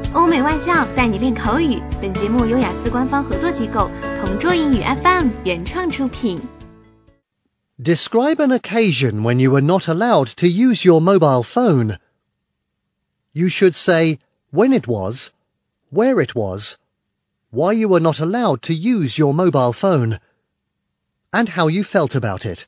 欧美外教带你练口语。本节目由雅思官方合作机构同桌英语 FM 原创出品。 Describe an occasion when you were not allowed to use your mobile phone. You should say when it was, where it was, why you were not allowed to use your mobile phone, and how you felt about it.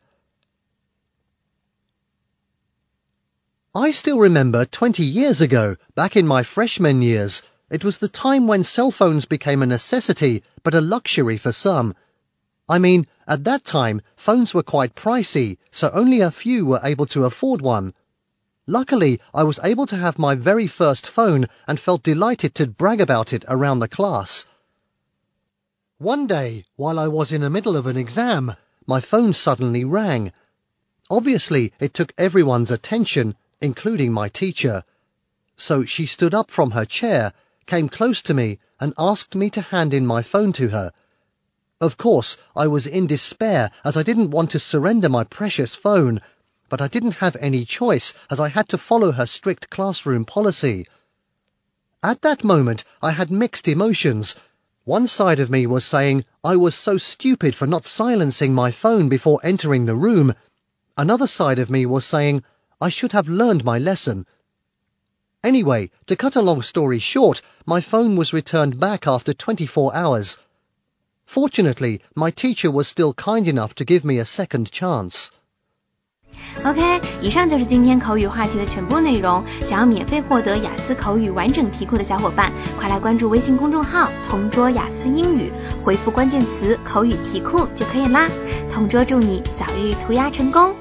I still remember 20 years ago, back in my freshman years, it was the time when cell phones became a necessity, but a luxury for some. I mean, at that time, phones were quite pricey, so only a few were able to afford one. Luckily, I was able to have my very first phone and felt delighted to brag about it around the class. One day, while I was in the middle of an exam, my phone suddenly rang. Obviously, it took everyone's attention, including my teacher. So she stood up from her chair, came close to me, and asked me to hand in my phone to her. Of course, I was in despair as I didn't want to surrender my precious phone, but I didn't have any choice as I had to follow her strict classroom policy. At that moment, I had mixed emotions. One side of me was saying I was so stupid for not silencing my phone before entering the room. Another side of me was saying I should have learned my lesson. Anyway, to cut a long story short, my phone was returned back after 24 hours. Fortunately, my teacher was still kind enough to give me a second chance. OK， 以上就是今天口语话题的全部内容。想要免费获得雅思口语完整题库的小伙伴，快来关注微信公众号同桌雅思英语，回复关键词口语题库就可以啦。同桌祝你早日涂鸦成功。